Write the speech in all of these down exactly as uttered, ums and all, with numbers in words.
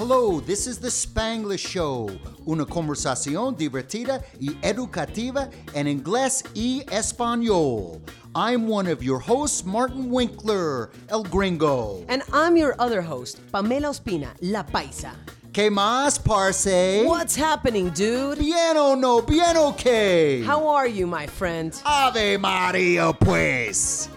Hello, this is the Spanglish Show, una conversación divertida y educativa en inglés y español. I'm one of your hosts, Martin Winkler, El Gringo. And I'm your other host, Pamela Ospina, La Paisa. ¿Qué más, parce? What's happening, dude? Bien o no, bien okay. How are you, my friend? Ave Maria, pues.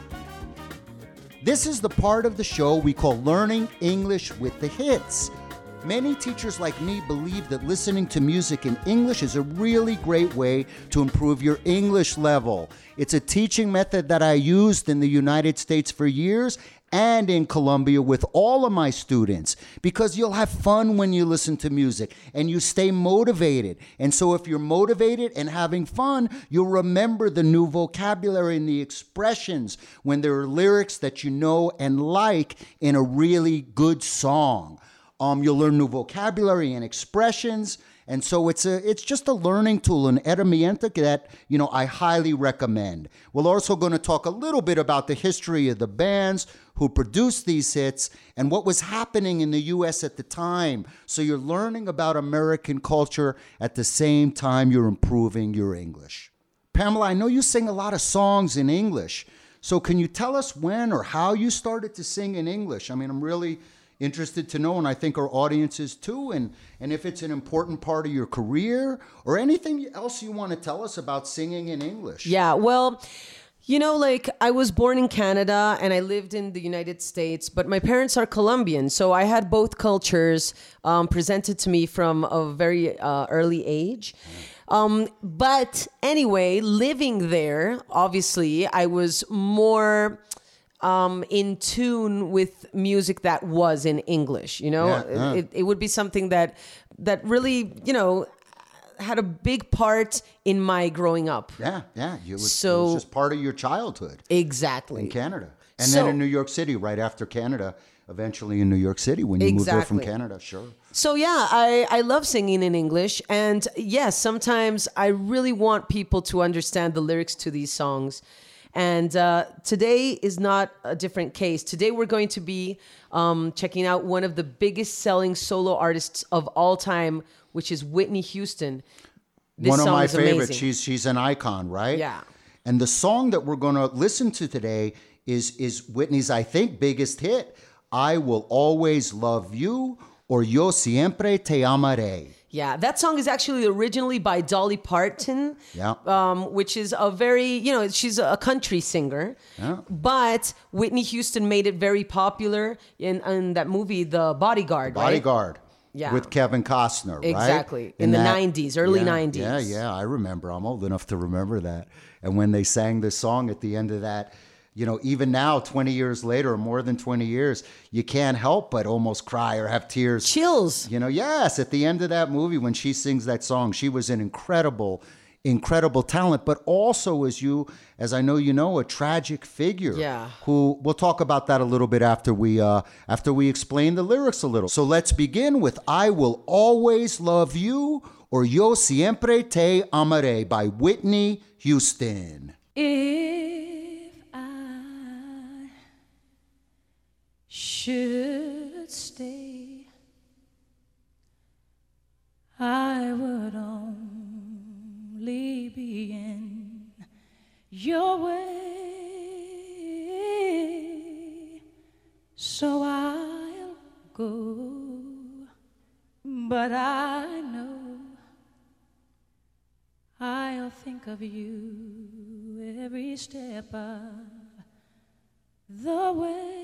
This is the part of the show we call Learning English with the Hits. Many teachers like me believe that listening to music in English is a really great way to improve your English level. It's a teaching method that I used in the United States for years and in Colombia with all of my students, because you'll have fun when you listen to music and you stay motivated. And so if you're motivated and having fun, you'll remember the new vocabulary and the expressions when there are lyrics that you know and like in a really good song. Um, you'll learn new vocabulary and expressions. And so it's a it's just a learning tool, an herramienta that, you know, I highly recommend. We're also going to talk a little bit about the history of the bands who produced these hits and what was happening in the U S at the time. So you're learning about American culture at the same time you're improving your English. Pamela, I know you sing a lot of songs in English. So can you tell us when or how you started to sing in English? I mean, I'm really interested to know, and I think our audience is too, and, and if it's an important part of your career or anything else you want to tell us about singing in English. Yeah, well, you know, like I was born in Canada and I lived in the United States, but my parents are Colombian. So I had both cultures um, presented to me from a very uh, early age. Um, but anyway, living there, obviously, I was more Um, in tune with music that was in English, you know? Yeah, yeah. It, it would be something that that really, you know, had a big part in my growing up. Yeah, yeah. You was, So- it was just part of your childhood Exactly. in Canada. And So- then in New York City, right after Canada, eventually in New York City when you moved there from Exactly. Canada, sure. So yeah, I, I love singing in English. And yes, sometimes I really want people to understand the lyrics to these songs. And uh, today is not a different case. Today we're going to be um, checking out one of the biggest selling solo artists of all time, which is Whitney Houston. This One of song my is favorites. amazing. She's she's an icon, right? Yeah. And the song that we're going to listen to today is is Whitney's, I think, biggest hit. I Will Always Love You, or Yo Siempre Te Amaré. Yeah, that song is actually originally by Dolly Parton, Yeah. um, which is a very, you know, she's a country singer. Yeah. But Whitney Houston made it very popular in, in that movie, The Bodyguard, right? Bodyguard. Yeah. With Kevin Costner, right? Exactly. In the nineties, early yeah, nineties. Yeah, yeah, I remember. I'm old enough to remember that. And when they sang this song at the end of that, you know, even now, twenty years later, or more than twenty years, you can't help but almost cry or have tears. Chills. You know, yes, at the end of that movie, when she sings that song, she was an incredible, incredible talent, but also, as you, as I know you know, a tragic figure. Yeah. Who, we'll talk about that a little bit after we, uh, after we explain the lyrics a little. So let's begin with I Will Always Love You, or Yo Siempre Te Amaré by Whitney Houston. If I should stay, I would only be in your way, so I'll go, but I know I'll think of you every step of the way.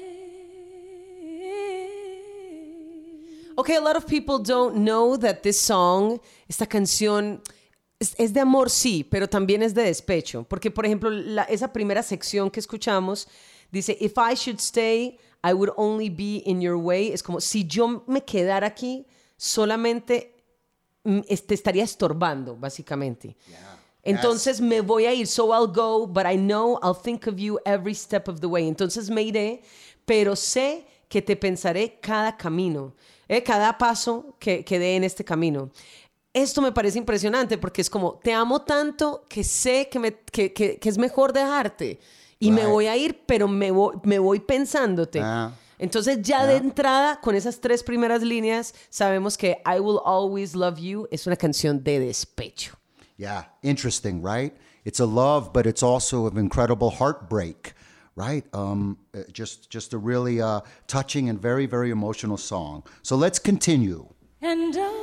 Okay, a lot of people don't know that this song, esta canción, es, es de amor, sí, pero también es de despecho. Porque, por ejemplo, la, esa primera sección que escuchamos dice, if I should stay, I would only be in your way. Es como, si yo me quedara aquí, solamente te estaría estorbando, básicamente. Yeah. Entonces me voy a ir, so I'll go, but I know I'll think of you every step of the way. Entonces me iré, pero sé que te pensaré cada camino, eh, cada paso que, que dé en este camino. Esto me parece impresionante porque es como, te amo tanto que sé que, me, que, que, que es mejor dejarte. Y Right. me voy a ir, pero me voy, me voy pensándote. Ah. Entonces ya Yeah. de entrada, con esas tres primeras líneas, sabemos que I Will Always Love You es una canción de despecho. Yeah, interesting, right? It's a love, but it's also an incredible heartbreak, right? Um, uh, just, just a really uh, touching and very, very emotional song. So let's continue. And I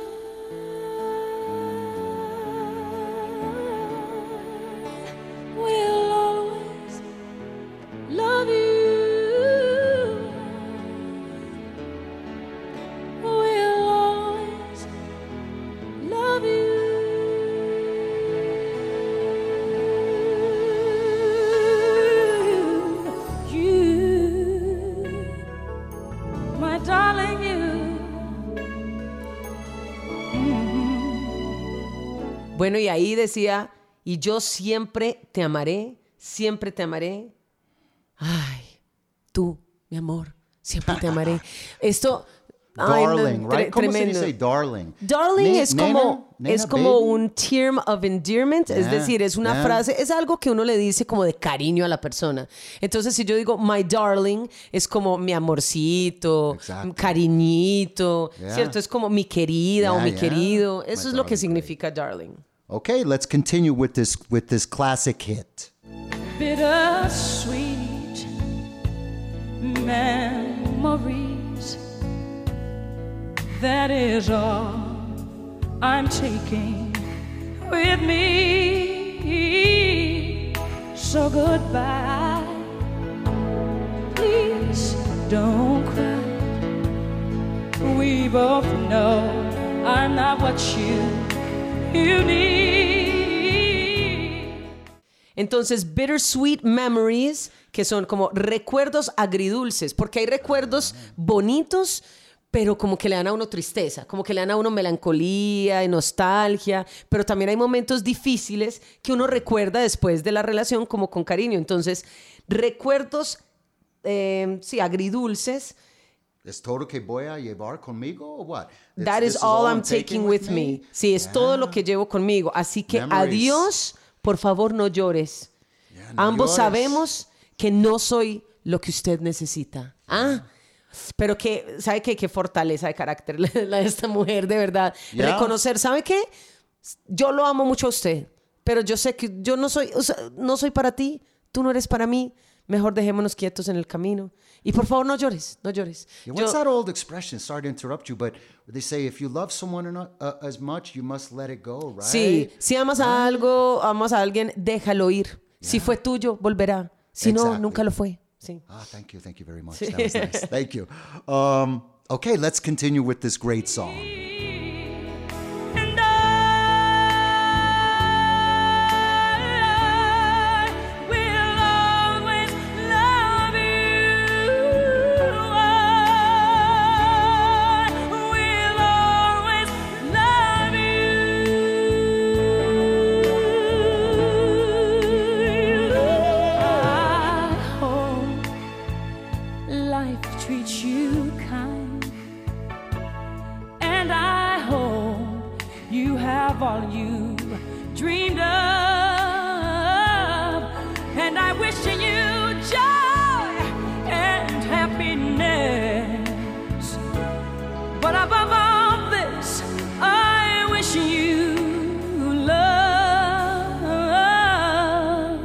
will always love you. Will always love you. You, my darling, you. Bueno, y ahí decía, y yo siempre te amaré, siempre te amaré. Ay, tú, mi amor, siempre te amaré. Esto, ay, no, Darling, tre- right? ¿Cómo se tremendo. dice darling? Darling Ne- es nena, como, nena, es como baby. un term of endearment, es Yeah, decir, es una yeah. frase, es algo que uno le dice como de cariño a la persona. Entonces, si yo digo my darling, es como mi amorcito, Exacto. cariñito, Yeah. ¿cierto? Es como mi querida o Yeah, mi yeah. querido. My Eso es lo que darling, significa darling. Okay, let's continue with this with this classic hit. Bittersweet memories. That is all I'm taking with me. So goodbye. Please don't cry. We both know I'm not what you you need. Entonces, bittersweet memories, que son como recuerdos agridulces, porque hay recuerdos bonitos, pero como que le dan a uno tristeza, como que le dan a uno melancolía y nostalgia, pero también hay momentos difíciles que uno recuerda después de la relación como con cariño. Entonces, recuerdos, eh, sí, agridulces. ¿Es todo que voy a llevar conmigo o what? It's- That this is all I'm taking with me. Sí, es Yeah. todo lo que llevo conmigo. Así que Memories. adiós, por favor no llores. Yeah, no Ambos llores. sabemos que no soy lo que usted necesita. Ah, pero que, ¿sabe qué? Qué fortaleza de carácter la la de esta mujer, de verdad. Yeah. Reconocer, ¿sabe qué? Yo lo amo mucho a usted, pero yo sé que yo no soy, o sea, no soy para ti, tú no eres para mí. Mejor dejémonos quietos en el camino. Y por favor, no llores, no llores. Yeah, Yo- what's that old expression? Sorry to interrupt you, but they say if you love someone enough, uh, as much, you must let it go, right? Sí, si amas a algo, amas a alguien, déjalo ir. Si fue tuyo, volverá. Si no, Exactly. nunca lo fue. Sí. Ah, thank you, thank you very much. That was nice. Thank you. Um, okay, let's continue with this great song. And I will always love you. I will always love you. I hope life treats you kind. And I hope you have all you dreamed of. And I wish you joy and happiness. But above all this, I wish you love.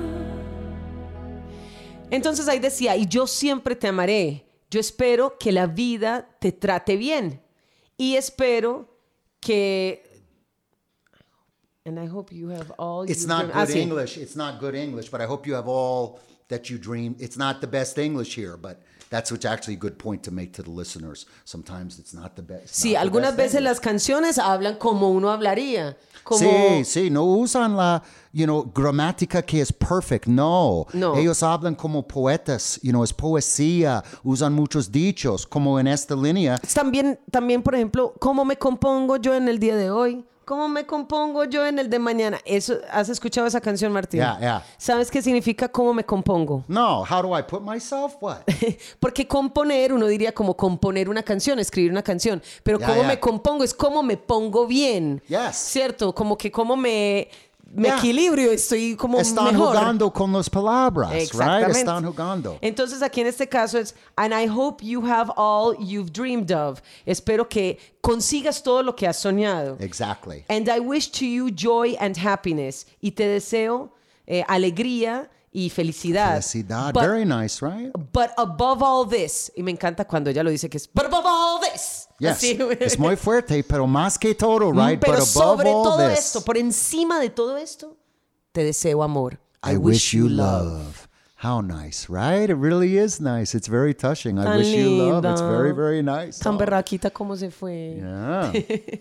Entonces ahí decía, y yo siempre te amaré. Yo espero que la vida te trate bien. Y espero que... And I hope you have all It's you not dream- good Ah, sí. English. It's not good English, but I hope you have all that you dream. It's not the best English here, but that's what's actually a good point to make to the listeners. Sometimes it's not the best. Sí, not the algunas best veces English. las canciones hablan como uno hablaría. Como... Sí, sí, no usan la, you know, gramática que es perfect, no. No. Ellos hablan como poetas, you know, es poesía, usan muchos dichos, como en esta línea. También, también, por ejemplo, ¿cómo me compongo yo en el día de hoy? ¿Cómo me compongo yo en el de mañana? Eso, ¿has escuchado esa canción, Martín? Yeah, yeah. ¿Sabes qué significa cómo me compongo? No, how do I put myself? What? Porque componer, uno diría como componer una canción, escribir una canción. Pero Ya, cómo ya. me compongo es cómo me pongo bien. Yes. ¿Cierto? Como que cómo me... me Yeah. equilibrio, estoy como Están mejor. jugando con las palabras, right? Exactamente. Están jugando. Entonces aquí en este caso es, and I hope you have all you've dreamed of. Espero que consigas todo lo que has soñado. Exactly. And I wish to you joy and happiness. Y te deseo eh, alegría y felicidad. Felicidad. But, Very nice, right? but above all this, y me encanta cuando ella lo dice que es, but above all this. Yes. Así. Es muy fuerte, pero más que todo, right? Pero But above sobre all todo this, esto, por encima de todo esto, te deseo amor. I, wish you love. How nice, right? It really is nice. It's very touching. I Tan wish you love. It's linda. very, very nice. Tan Oh, berraquita como se fue. yeah.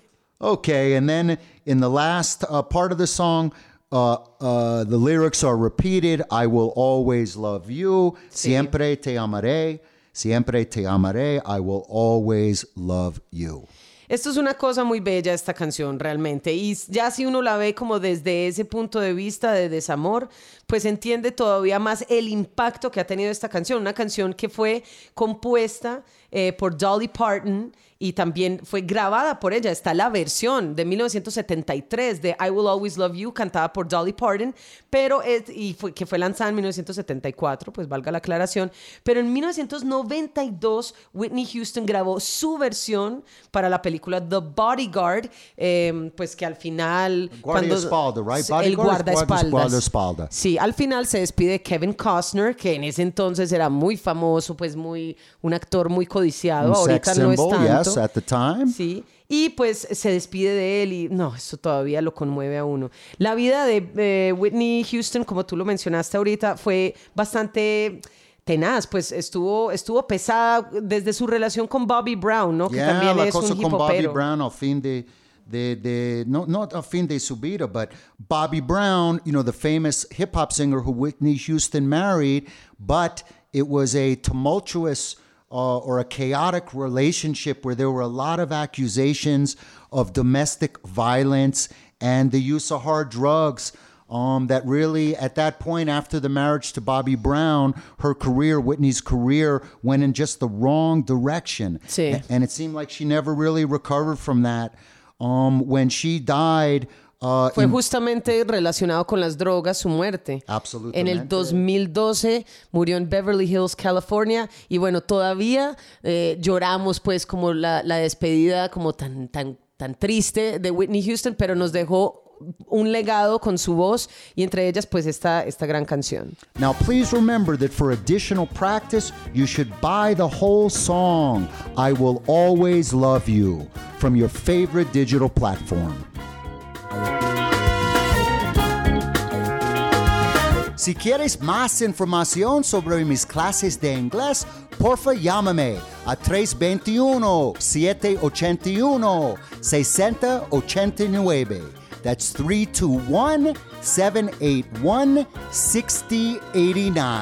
Okay, and then in the last uh, part of the song, uh, uh, the lyrics are repeated. I will always love you. Sí. Siempre te amaré. Siempre te amaré. I will always love you. Esto es una cosa muy bella, esta canción, realmente. Y ya si uno la ve como desde ese punto de vista de desamor, pues entiende todavía más el impacto que ha tenido esta canción. Una canción que fue compuesta eh, por Dolly Parton y también fue grabada por ella. Está la versión de mil novecientos setenta y tres de I Will Always Love You, cantada por Dolly Parton, pero es, y fue, que fue lanzada en mil novecientos setenta y cuatro, pues valga la aclaración. Pero en mil novecientos noventa y dos, Whitney Houston grabó su versión para la película The Bodyguard, eh, pues que al final... Guardaespaldas, right? El Bodyguard es guardaespaldas. guardaespaldas. Sí, al final se despide Kevin Costner, que en ese entonces era muy famoso, pues muy un actor muy codiciado. Un Ahorita sex no es symbol, tanto. yes, at the time. Sí. Y pues se despide de él y no, eso todavía lo conmueve a uno. La vida de eh, Whitney Houston, como tú lo mencionaste ahorita, fue bastante tenaz, pues estuvo, estuvo pesada desde su relación con Bobby Brown, ¿no? Yeah, que también la es cosa un con Bobby hipopero. Brown al fin de, de, de no, not al fin de su vida, but Bobby Brown, you know, the famous hip hop singer who Whitney Houston married, but it was a tumultuous uh, or a chaotic relationship where there were a lot of accusations of domestic violence and the use of hard drugs. Um, that really, at that point, after the marriage to Bobby Brown, her career, Whitney's career, went in just the wrong direction. Sí. A- And it seemed like she never really recovered from that. Um, when she died... Uh, Fue in- justamente relacionado con las drogas su muerte. Absolutamente. En el dos mil doce murió en Beverly Hills, California. Y bueno, todavía eh, lloramos pues como la, la despedida como tan, tan, tan triste de Whitney Houston, pero nos dejó un legado con su voz y entre ellas pues esta, esta gran canción. Now, please remember that for additional practice, you should buy the whole song, I Will Always Love You, from your favorite digital platform. Si quieres más información sobre mis clases de inglés, porfa llámame a tres dos uno, siete ocho uno, seis cero ocho nueve. That's three two one, seven eight one, six zero eight nine.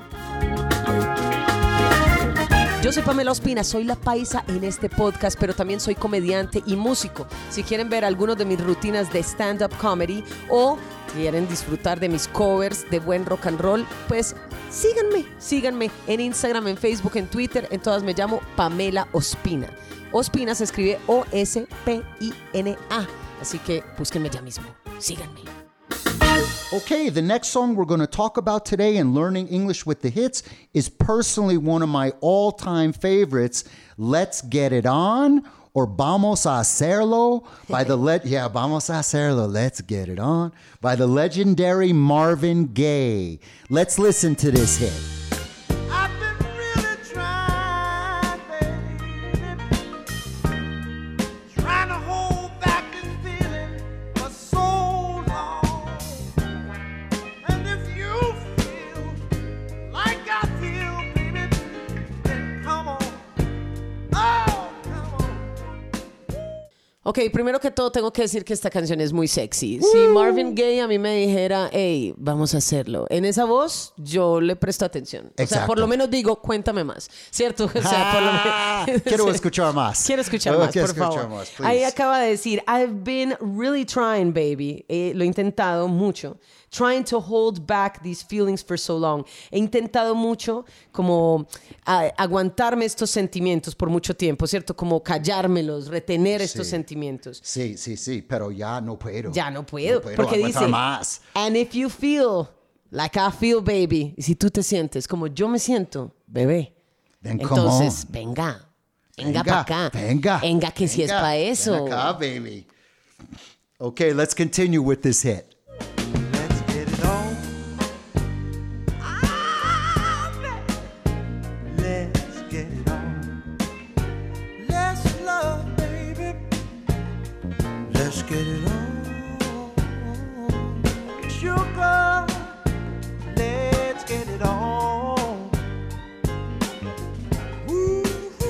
Yo soy Pamela Ospina, soy la paisa en este podcast, pero también soy comediante y músico. Si quieren ver algunos de mis rutinas de stand-up comedy o quieren disfrutar de mis covers de buen rock and roll, pues síganme, síganme en Instagram, en Facebook, en Twitter, en todas me llamo Pamela Ospina. Ospina se escribe O S P I N A, así que búsquenme ya mismo, síganme. Okay, the next song we're going to talk about today in Learning English with the Hits is personally one of my all-time favorites, Let's Get It On, or Vamos a Hacerlo, by the le- yeah, Vamos a Hacerlo, Let's Get It On, by the legendary Marvin Gaye. Let's listen to this hit. I've been really trying, baby, trying to hold back this feeling for so long. And if you feel like I feel, baby, then come on. Oh, come on. Ok, primero que todo tengo que decir que esta canción es muy sexy. Si Marvin Gaye a mí me dijera, hey, vamos a hacerlo, en esa voz yo le presto atención. O sea, Exacto. por lo menos digo, cuéntame más, ¿cierto? O sea, por lo Ah, menos... quiero escuchar más. Quiero escuchar Oh, más, quiero por escuchar favor. más, please. Ahí acaba de decir, I've been really trying, baby. Eh, lo he intentado mucho. trying to hold back these feelings for so long. He intentado mucho como a, aguantarme estos sentimientos por mucho tiempo, ¿cierto? Como callármelos, retener Sí. estos sentimientos. Sí, sí, sí, pero ya no puedo. Ya no puedo, No puedo porque aguantar dice, más. and if you feel like I feel, baby, y si tú te sientes como yo me siento, bebé, Then come entonces on. venga, venga, para acá, Venga. venga que si es venga, para eso. Ven acá, baby. Okay, let's continue with this hit. Let's get it on. Ah, let's get it on. Let's love, baby. Let's get it on. Sugar, let's get it on. Ooh.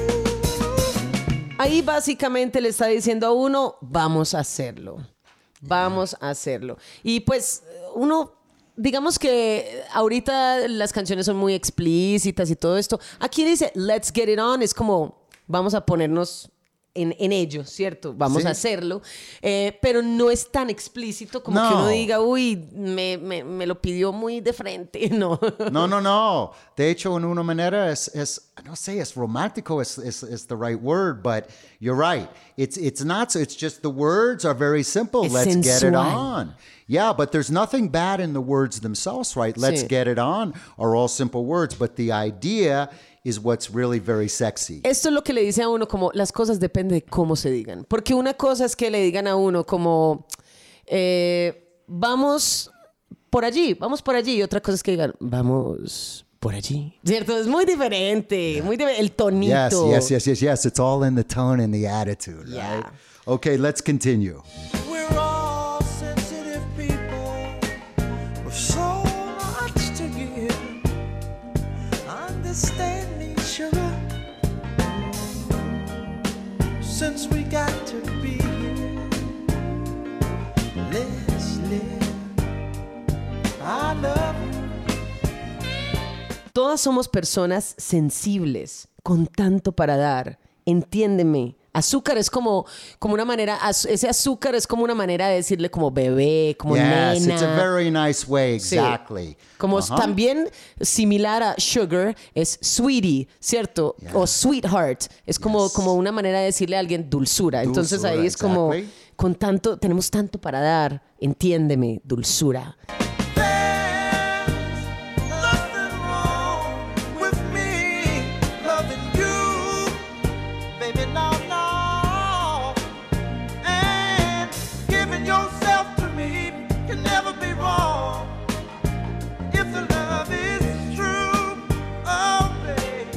Ahí básicamente le está diciendo a uno, vamos a hacerlo, vamos a hacerlo. Y pues uno, digamos que ahorita las canciones son muy explícitas y todo esto. Aquí dice, let's get it on, es como, vamos a ponernos en, en ello, ¿cierto? Vamos Sí. a hacerlo. Eh, pero no es tan explícito como No. que uno diga, uy, me, me, me lo pidió muy de frente, no. No, no, no. De hecho, en una manera es, es no sé, es romántico is, is, is the right word, but you're right. It's it's not so. It's just the words are very simple. Es Let's get it sensual. on. Yeah, but there's nothing bad in the words themselves, right? Let's Sí. get it on are all simple words, but the idea is what's really very sexy. Esto es lo que le dice a uno como las cosas depende de cómo se digan. Porque una cosa es que le digan a uno como eh, vamos por allí, vamos por allí. Y otra cosa es que digan vamos por allí. ¿Cierto? Es muy diferente. Muy difer- el Yes, tonito. yes, yes, yes, yes. It's all in the tone and the attitude, Yeah. right? Okay, let's continue. We're all sensitive people with so much to give. Understand me, sugar. Since we got to be here, let's live. I love you. Todas somos personas sensibles, con tanto para dar. Entiéndeme. Azúcar es como, como una manera, az- ese azúcar es como una manera de decirle como bebé, como Yes, nena. it's a very nice way, Sí. exactly. Como Uh-huh. también similar a sugar es sweetie, ¿cierto? Yeah. O sweetheart. Es como, Yes. como una manera de decirle a alguien dulzura. Entonces Dulzura, ahí es como, exactly. con tanto, tenemos tanto para dar. Entiéndeme, dulzura. There's nothing wrong with me loving you, baby, no, no. And giving yourself to me can never be wrong if the love is true, oh, baby.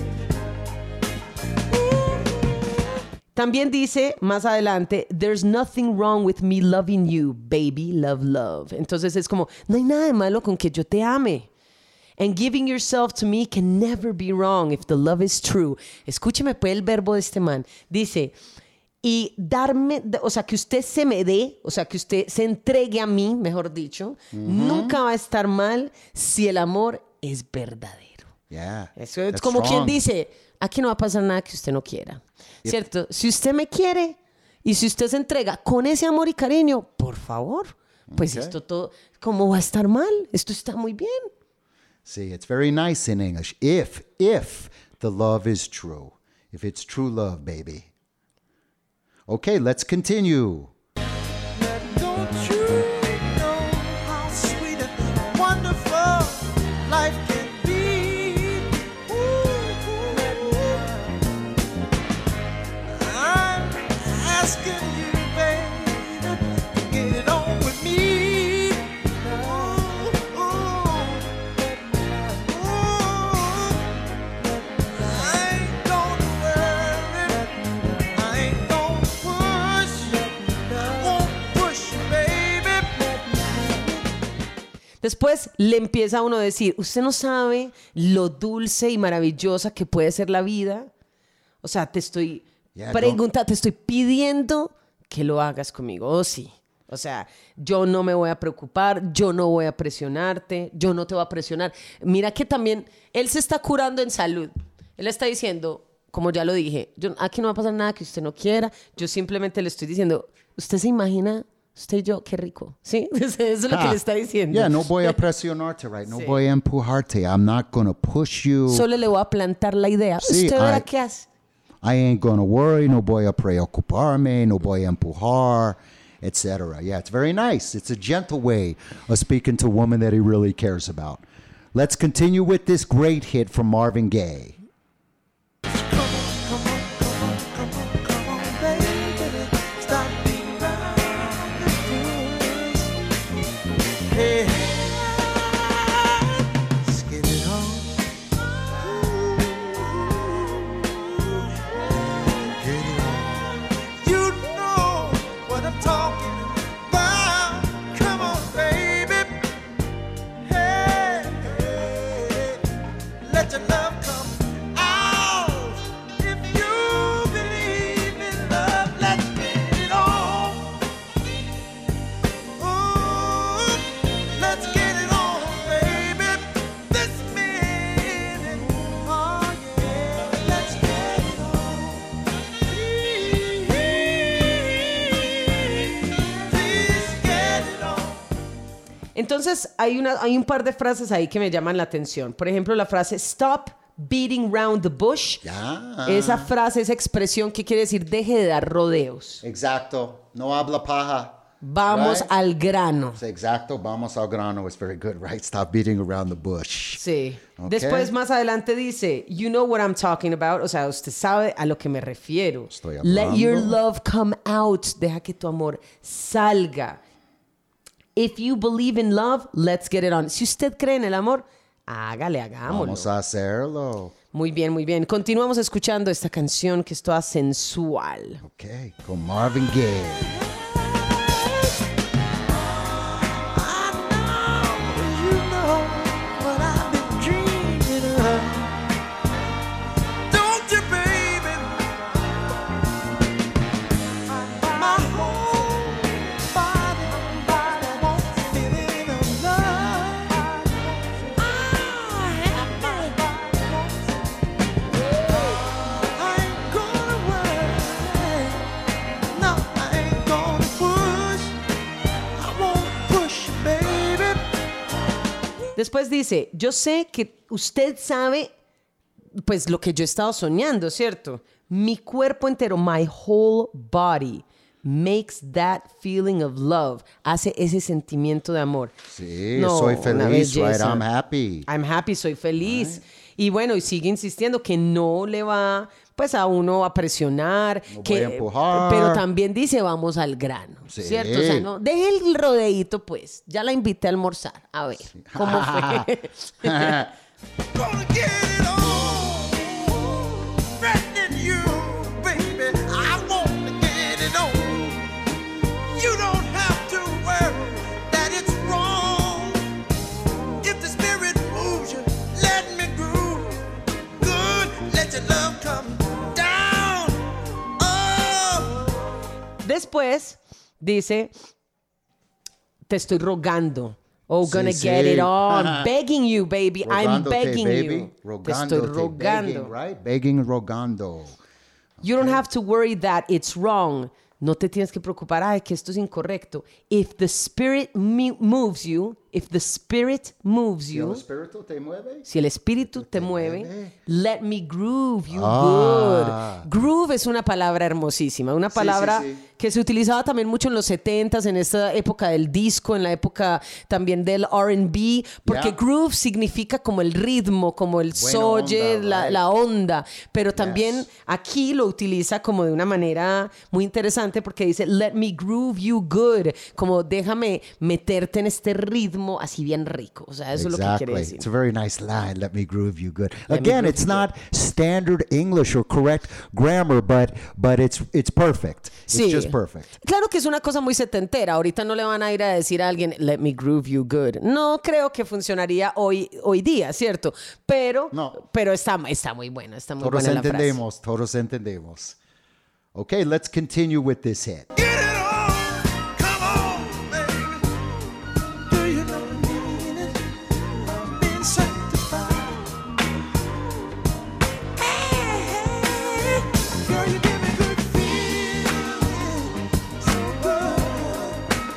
También dice más adelante, there's nothing wrong with me loving you, baby, love, love. Entonces es como, no hay nada de malo con que yo te ame. And giving yourself to me can never be wrong if the love is true. Escúcheme pues el verbo de este man. Dice, y darme, o sea, que usted se me dé, o sea, que usted se entregue a mí, mejor dicho, nunca va a estar mal si el amor es verdadero. Yeah. Eso es that's como quien strong. dice, aquí no va a pasar nada que usted no quiera. ¿Cierto? Si usted me quiere y si usted se entrega con ese amor y cariño, por favor, pues Okay. esto todo, ¿cómo va a estar mal? Esto está muy bien. See, it's very nice in English. If, if the love is true. If it's true love, baby. Okay, let's continue. Don't you know how sweet and wonderful life can be? Ooh, I'm asking you, baby, to get it on with me. Ooh, ooh, ooh. I ain't gonna worry. I ain't gonna push. I won't push you, baby. Después le empieza a uno a decir, usted no sabe lo dulce y maravillosa que puede ser la vida. O sea, te estoy Yeah, preguntando, te estoy pidiendo que lo hagas conmigo. Oh, sí. O sea, yo no me voy a preocupar, yo no voy a presionarte, yo no te voy a presionar. Mira que también él se está curando en salud. Él está diciendo, como ya lo dije, yo, aquí no va a pasar nada que usted no quiera. Yo simplemente le estoy diciendo, ¿usted se imagina Usted y yo, qué rico. ¿Sí? Eso es lo que Ah. le está diciendo. Yeah, no voy a presionarte, right? No Sí. voy a empujarte. I'm not going to push you. Solo le voy a plantar la idea. Sí, Usted verá I- qué hace. I ain't going to worry. No voy a preocuparme. No voy a empujar, et cetera. Yeah, it's very nice. It's a gentle way of speaking to a woman that he really cares about. Let's continue with this great hit from Marvin Gaye. Let your love come out. If you believe in love, let's get it on. Ooh, let's get it on, baby. This minute, oh yeah, let's get it on. Please, please get it on. Entonces, hay, una, hay un par de frases ahí que me llaman la atención. Por ejemplo, la frase stop beating round the bush. Ya. Esa frase, esa expresión, ¿qué quiere decir? Deje de dar rodeos. Exacto. No habla paja. Vamos Right? al grano. Exacto. Vamos al grano. It's very good, right? Stop beating around the bush. Sí. Ok. Después, más adelante dice, you know what I'm talking about. O sea, usted sabe a lo que me refiero. Estoy Let your hablando. love come out. Deja que tu amor salga. If you believe in love, let's get it on. Si usted cree en el amor, hágale, hagámoslo. Vamos a hacerlo. Muy bien, muy bien. Continuamos escuchando esta canción que es toda sensual. Okay. Con Marvin Gaye. I know you know what I've been dreaming of. Don't you, baby? My whole body, body wants a feeling of love. I have my I ain't gonna worry. No, I ain't gonna push. I won't push, baby. Después dice, yo sé que usted sabe, pues lo que yo he estado soñando, ¿cierto? Mi cuerpo entero, my whole body, makes that feeling of love. Hace ese sentimiento de amor. Sí, No, soy una feliz, right? belleza. I'm happy. I'm happy, soy feliz. Y bueno, y sigue insistiendo que no le va, pues, a uno a presionar. No voy que, a empujar. Pero también dice, vamos al grano, Sí. ¿cierto? O sea, no, deje el rodeíto, pues. Ya la invité a almorzar. A ver, ¿cómo fue? Gonna get it on. Threatening you, baby. I wanna get it on. You don't have to worry that it's wrong. If the spirit moves you, let me groove. Good, let your love come down. Oh. Después dice, te estoy rogando. Oh, Sí, gonna sí. get it on. Begging you, baby. I'm Rogándote, begging baby. you. Te Rogándote, estoy rogando. begging, right? Begging, rogando. You don't have to worry that it's wrong. No te tienes que preocupar, ay, que esto es incorrecto. If the spirit me- moves you, if the spirit moves Si el you, espíritu te mueve. si el espíritu te mueve, mueve. let me groove you Ah. good. Groove es una palabra hermosísima, una Sí, palabra sí, sí. que se utilizaba también mucho en los setentas, en esta época del disco, en la época también del R and B, porque Yeah. groove significa como el ritmo, como el Buena soye, onda, la, right. la onda, pero también Yes. aquí lo utiliza como de una manera muy interesante porque dice, let me groove you good, como déjame meterte en este ritmo así bien rico. O sea, eso es lo que quiere Exactly. decir. It's a very nice line. Let me groove you good. Let me Again, groove it's you not standard English or correct grammar, but but it's it's perfect. It's Sí. just perfect. Claro que es una cosa muy setentera. Ahorita no le van a ir a decir a alguien, let me groove you good. No creo que funcionaría hoy, hoy día, ¿cierto? Pero, No. pero está, está muy buena, está muy Todos buena la frase. entendemos. Todos entendemos. Okay, let's continue with this hit. Get it on, come on, baby. Do you know the meaning of being sanctified? Hey, girl, you give me good feeling, so good.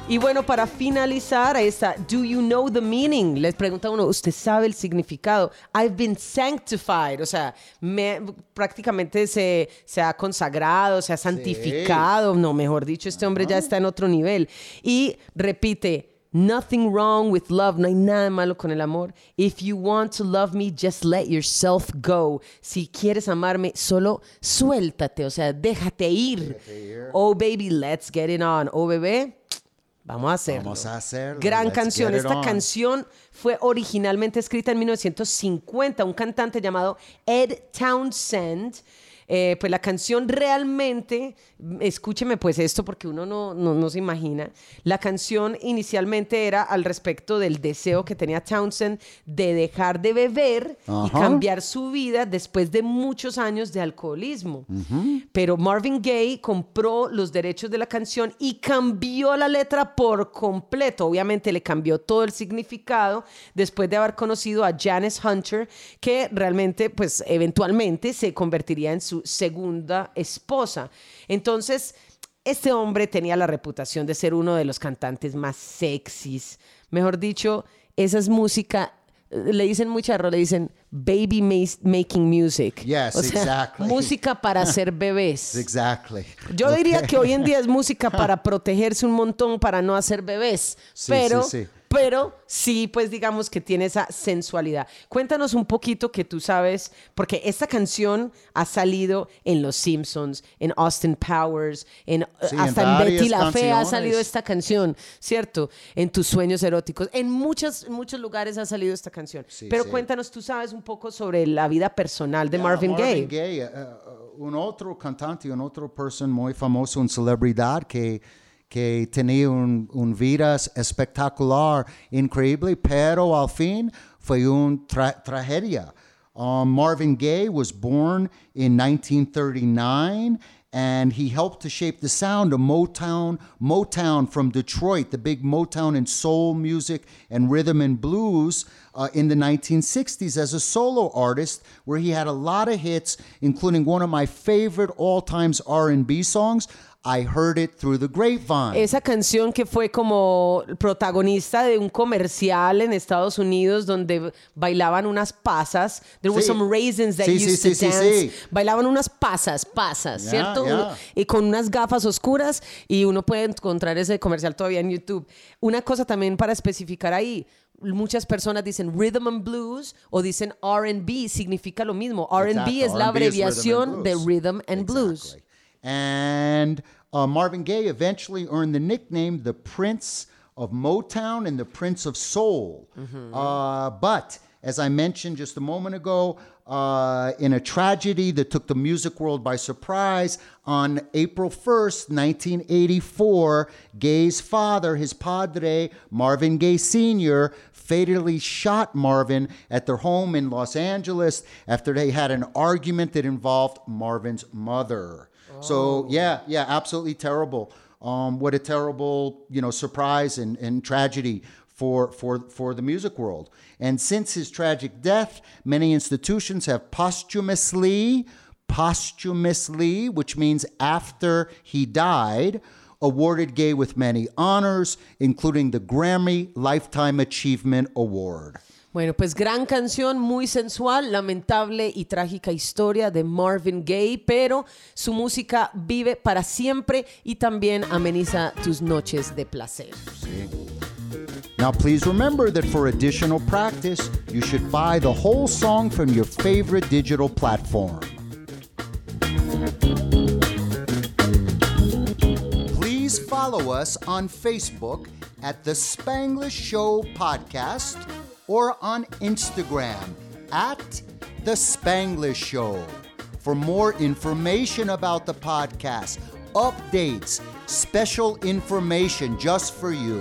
Y bueno, para finalizar, ahí está, do you know the meaning? Les pregunta uno, ¿usted sabe el significado? I've been sanctified, o sea, me, prácticamente se, se ha consagrado, se ha santificado, sí. No, mejor dicho, este hombre uh-huh. ya está en otro nivel. Y repite, nothing wrong with love, no hay nada malo con el amor. If you want to love me, just let yourself go. Si quieres amarme, solo suéltate, o sea, déjate ir. Déjate ir. Oh, baby, let's get it on. Oh, bebé, vamos a hacerlo. Vamos a hacerlo. Gran Let's canción. Esta canción fue originalmente escrita en mil novecientos cincuenta. Un cantante llamado Ed Townsend. Eh, pues la canción realmente, escúcheme pues esto porque uno no, no, no se imagina, la canción inicialmente era al respecto del deseo que tenía Townsend de dejar de beber uh-huh. y cambiar su vida después de muchos años de alcoholismo. Uh-huh. Pero Marvin Gaye compró los derechos de la canción y cambió la letra por completo. Obviamente le cambió todo el significado después de haber conocido a Janice Hunter, que realmente pues eventualmente se convertiría en su segunda esposa. Entonces, este hombre tenía la reputación de ser uno de los cantantes más sexys. Mejor dicho, esa es música, le dicen muy charro, le dicen baby making music. Yes, o sea, exactly. música para hacer bebés. Exactly. Yo okay. diría que hoy en día es música para protegerse un montón, para no hacer bebés. Sí, pero... sí, sí. Pero sí, pues digamos que tiene esa sensualidad. Cuéntanos un poquito que tú sabes, porque esta canción ha salido en Los Simpsons, en Austin Powers, en, sí, hasta en, en Betty la canciones. Fea ha salido esta canción, ¿cierto? En Tus Sueños Eróticos. En muchos, muchos lugares ha salido esta canción. Sí, Pero sí. Cuéntanos, tú sabes un poco sobre la vida personal de yeah, Marvin, Marvin Gaye. Gaye uh, un otro cantante, un otro person muy famoso, una celebridad que... que tenía un, un vida espectacular, increíble, pero al fin fue una tra- tragedia. Um, Marvin Gaye was born in nineteen thirty-nine, and he helped to shape the sound of Motown, Motown from Detroit, the big Motown and soul music and rhythm and blues uh, in the nineteen sixties as a solo artist, where he had a lot of hits, including one of my favorite all-time R and B songs, I Heard It Through the Grapevine. Esa canción que fue como protagonista de un comercial en Estados Unidos donde bailaban unas pasas. There were sí. some raisins that sí, used sí, to sí, dance. sí, sí. Bailaban unas pasas, pasas, yeah, ¿cierto? Yeah. Y con unas gafas oscuras, y uno puede encontrar ese comercial todavía en YouTube. Una cosa también para especificar ahí. Muchas personas dicen rhythm and blues o dicen R and B, significa lo mismo. R and B es la abreviación de rhythm and exactly. blues. And uh, Marvin Gaye eventually earned the nickname the Prince of Motown and the Prince of Soul. Mm-hmm. Uh, but, as I mentioned just a moment ago, uh, in a tragedy that took the music world by surprise, on April first, nineteen eighty-four, Gaye's father, his padre, Marvin Gaye Senior, fatally shot Marvin at their home in Los Angeles after they had an argument that involved Marvin's mother. Oh. So, yeah, yeah, absolutely terrible. Um, what a terrible, you know, surprise and, and tragedy for, for, for the music world. And since his tragic death, many institutions have posthumously, posthumously, which means after he died, awarded Gaye with many honors, including the Grammy Lifetime Achievement Award. Bueno, pues gran canción, muy sensual, lamentable y trágica historia de Marvin Gaye, pero su música vive para siempre y también ameniza tus noches de placer. Sí. Now, please remember that for additional practice, you should buy the whole song from your favorite digital platform. Please follow us on Facebook at The Spanglish Show Podcast or on Instagram at The Spanglish Show. For more information about the podcast, updates, special information just for you.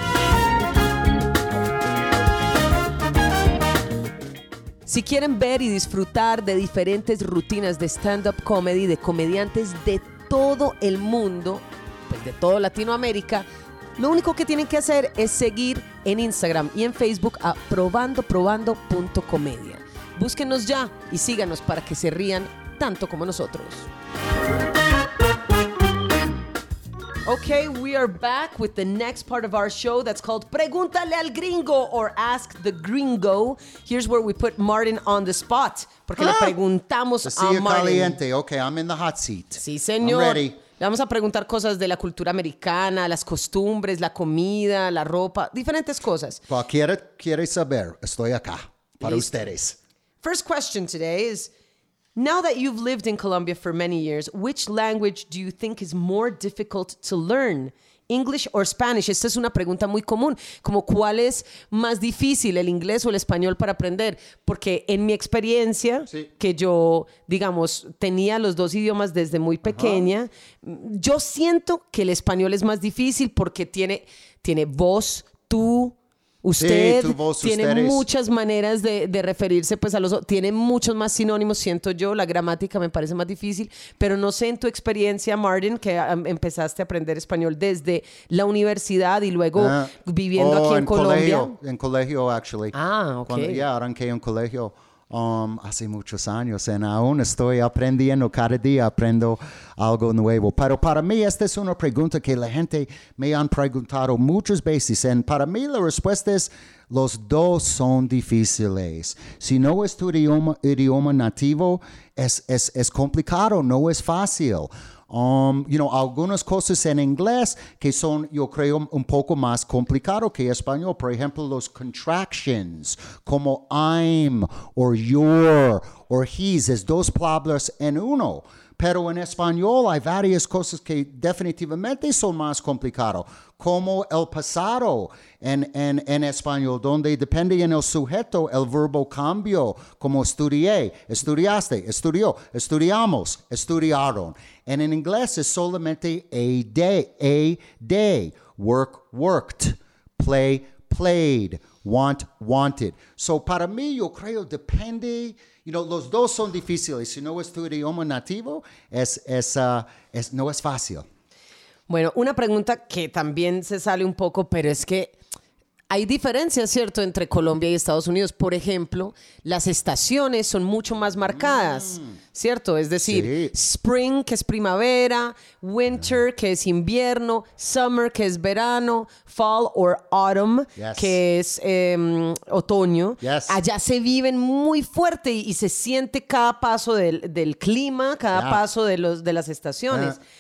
Si quieren ver y disfrutar de diferentes rutinas de stand-up comedy de comediantes de todo el mundo, pues de toda Latinoamérica, lo único que tienen que hacer es seguir en Instagram y en Facebook a probando probando punto comedia. Búsquenos ya y síganos para que se rían tanto como nosotros. Okay, we are back with the next part of our show that's called Pregúntale al Gringo or Ask the Gringo. Here's where we put Martin on the spot. Porque le preguntamos The a silla Martin. caliente. Okay, I'm in the hot seat. Sí, señor. I'm ready. Le vamos a preguntar cosas de la cultura americana, las costumbres, la comida, la ropa, diferentes cosas. Cualquiera quiere saber, estoy acá para Listo. ustedes. First question today is, now that you've lived in Colombia for many years, which language do you think is more difficult to learn? English or Spanish? Esta es una pregunta muy común, como cuál es más difícil, el inglés o el español para aprender, porque en mi experiencia, Sí. que yo, digamos, tenía los dos idiomas desde muy pequeña, yo siento que el español es más difícil porque tiene, tiene vos, tú, usted, tu voz, tiene ustedes. muchas maneras de, de referirse pues a los otros, tiene muchos más sinónimos, siento yo, la gramática me parece más difícil, pero no sé en tu experiencia, Martin, que um, empezaste a aprender español desde la universidad y luego Ah, viviendo oh, aquí en, en Colombia. Colegio, en colegio, actually. Ah, ok. Cuando, ya arranqué en colegio um, hace muchos años, y aún estoy aprendiendo, cada día aprendo algo nuevo. Pero para mí, esta es una pregunta que la gente me han preguntado muchas veces, y para mí la respuesta es, los dos son difíciles. Si no es tu idioma, idioma nativo, es, es, es complicado, no es fácil. Um, you know, algunas cosas en inglés que son, yo creo, un poco más complicado que español. Por ejemplo, los contractions, como I'm, or your, or his, es dos palabras en uno. Pero en español hay varias cosas que definitivamente son más complicadas, como el pasado en, en, en español, donde depende en el sujeto, el verbo cambio, como estudié, estudiaste, estudió, estudiamos, estudiaron. And en inglés es solamente a day, a day, work, worked, play, played, want, wanted. So para mí, yo creo, depende, you know, los dos son difíciles. Si no es tu idioma nativo, es, es, uh, es, no es fácil. Bueno, una pregunta que también se sale un poco, pero es que hay diferencias, ¿cierto?, entre Colombia y Estados Unidos. Por ejemplo, las estaciones son mucho más marcadas, ¿cierto? Es decir, Sí. spring, que es primavera, winter, que es invierno, summer, que es verano, fall or autumn, Yes. que es eh, otoño. Yes. Allá se viven muy fuerte y, y se siente cada paso del, del clima, cada Yeah. paso de, los, de las estaciones. Yeah.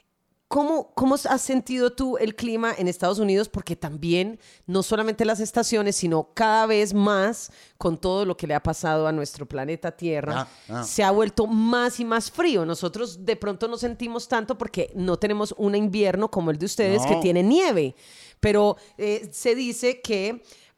¿Cómo, ¿Cómo has sentido tú el clima en Estados Unidos? Porque también, no solamente las estaciones, sino cada vez más, con todo lo que le ha pasado a nuestro planeta Tierra, Ah, ah. se ha vuelto más y más frío. Nosotros de pronto no sentimos tanto porque no tenemos un invierno como el de ustedes, No. que tiene nieve. Pero eh, se dice que...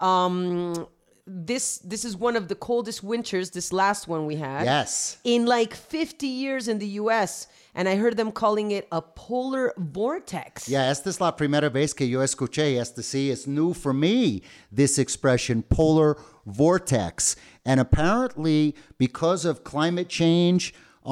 um, This this is one of the coldest winters, this last one we had, Yes. in like fifty years in the U S, and I heard them calling it a polar vortex. Yeah, esta es la primera vez que yo escuché esta. Sí, it's new for me, this expression, polar vortex. And apparently, because of climate change,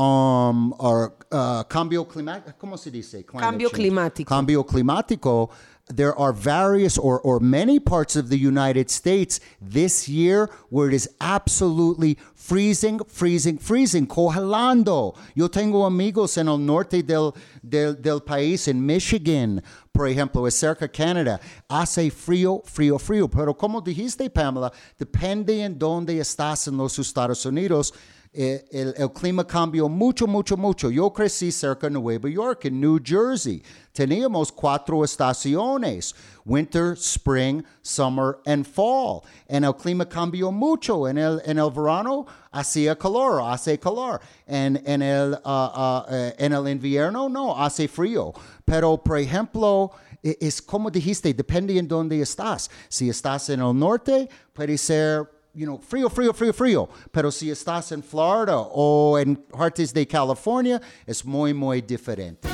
um, or uh, cambio climático, ¿cómo se dice? Climate Cambio change. climático. Cambio climático. There are various or, or many parts of the United States this year where it is absolutely freezing, freezing, freezing, congelando. Yo tengo amigos en el norte del, del, del país, en Michigan, por ejemplo, es cerca de Canadá. Hace frío, frío, frío. Pero como dijiste, Pamela, depende en dónde estás en los Estados Unidos. Eh, el, el clima cambió mucho, mucho, mucho. Yo crecí cerca de Nueva York, en New Jersey. Teníamos cuatro estaciones, winter, spring, summer, and fall. En el clima cambió mucho. En el, en el verano hacía calor, hace calor. En, en, el, uh, uh, uh, en el invierno, no, hace frío. Pero, por ejemplo, e- es como dijiste, depende en dónde estás. Si estás en el norte, puede ser... You know, frío, frío, frío, frío. Pero si estás en Florida o en partes de California, es muy, muy diferente.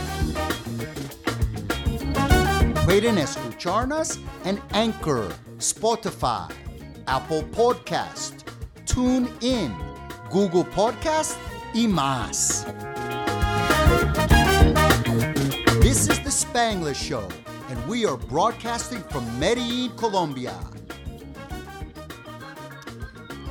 Pueden escucharnos en Anchor, Spotify, Apple Podcast, TuneIn, Google Podcast y más. This is the Spanglish Show, and we are broadcasting from Medellín, Colombia.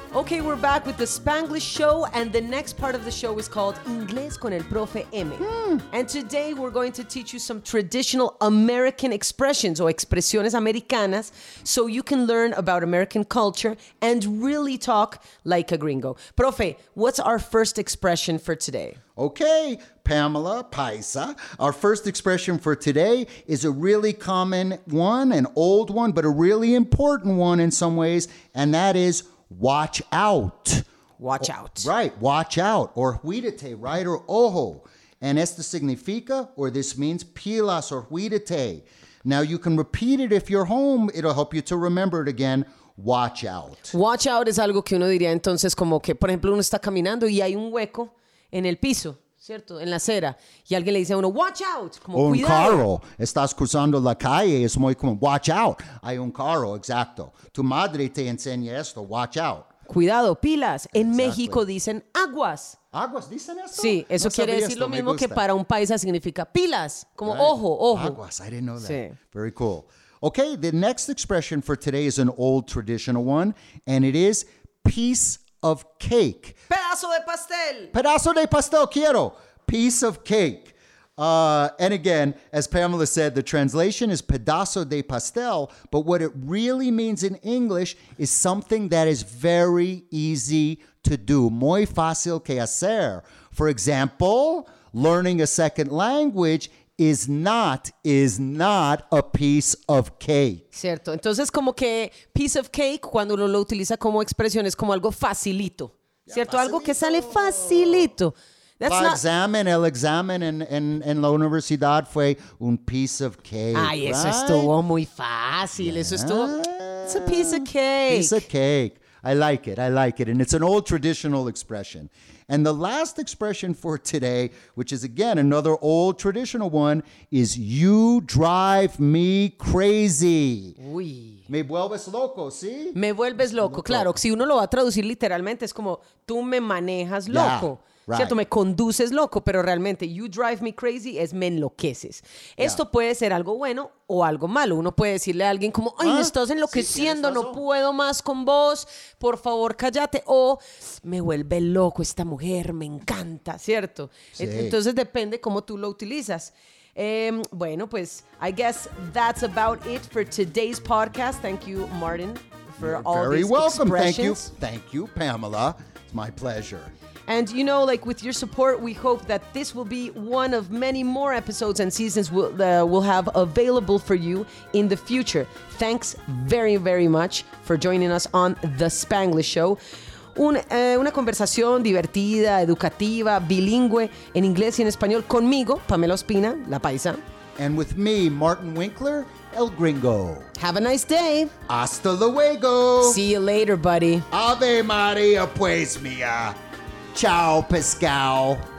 Okay, we're back with the Spanglish show, and the next part of the show is called Inglés con el Profe M. Mm. And today we're going to teach you some traditional American expressions or expresiones americanas so you can learn about American culture and really talk like a gringo. Profe, what's our first expression for today? Okay, Pamela, Paisa. Our first expression for today is a really common one, an old one, but a really important one in some ways, and that is watch out. Watch out. Right, watch out. Or huídate, right? Or ojo. And esto significa, or this means pilas or huídate. Now you can repeat it if you're home. It'll help you to remember it again. Watch out. Watch out es algo que uno diría entonces como que, por ejemplo, uno está caminando y hay un hueco en el piso, ¿cierto? En la acera. Y alguien le dice a uno, watch out, como o un cuidado. carro, estás cruzando la calle, es muy común, watch out. Hay un carro, exacto. Tu madre te enseña esto, watch out. Cuidado, pilas. En Exactly. México dicen aguas. ¿Aguas dicen esto? Sí, eso No quiere sabía decir esto, lo me mismo que gusta. para un paisa significa pilas, como Right. ojo, ojo. Aguas, I didn't know that. Sí. Very cool. Okay, the next expression for today is an old traditional one, and it is piece of cake. Pedazo de pastel. Pedazo de pastel quiero. Piece of cake. Uh, and again, as Pamela said, the translation is pedazo de pastel, but what it really means in English is something that is very easy to do. Muy fácil que hacer. For example, learning a second language is not, is not a piece of cake. Cierto. Entonces, como que piece of cake, cuando uno lo utiliza como expresión, es como algo facilito. ¿Cierto? Yeah, algo que sale facilito. That's La not... examen, el examen en, en, en la universidad fue un piece of cake. Ay, eso right? estuvo muy fácil. Eso estuvo... It's a piece of cake. Piece of cake. I like it. I like it. And it's an old traditional expression. And the last expression for today, which is again another old traditional one, is you drive me crazy. Uy. Me vuelves loco, ¿sí? Me vuelves loco. Claro, si uno lo va a traducir literalmente es como tú me manejas loco. Yeah, right. ¿Cierto? Me conduces loco, pero realmente you drive me crazy es me enloqueces. Esto puede ser algo bueno o algo malo. Uno puede decirle a alguien como, ay, Ah, me estás sí, enloqueciendo, tienes no razón. puedo más con vos, por favor, cállate. O me vuelve loco esta mujer, me encanta, ¿cierto? Sí. Entonces depende cómo tú lo utilizas. Um, bueno, pues I guess that's about it for today's podcast. Thank you, Martin, for You're all very these welcome. Thank you. expressions. Thank you, Pamela. It's my pleasure. And you know, like with your support, we hope that this will be one of many more episodes and seasons we'll, uh, we'll have available for you in the future. Thanks very, very much for joining us on The Spanglish Show. Un, eh, una conversación divertida, educativa, bilingüe, en inglés y en español conmigo, Pamela Ospina, la paisa. And with me, Martin Winkler, El Gringo. Have a nice day. Hasta luego. See you later, buddy. Ave Maria, pues mía. Ciao, pescao.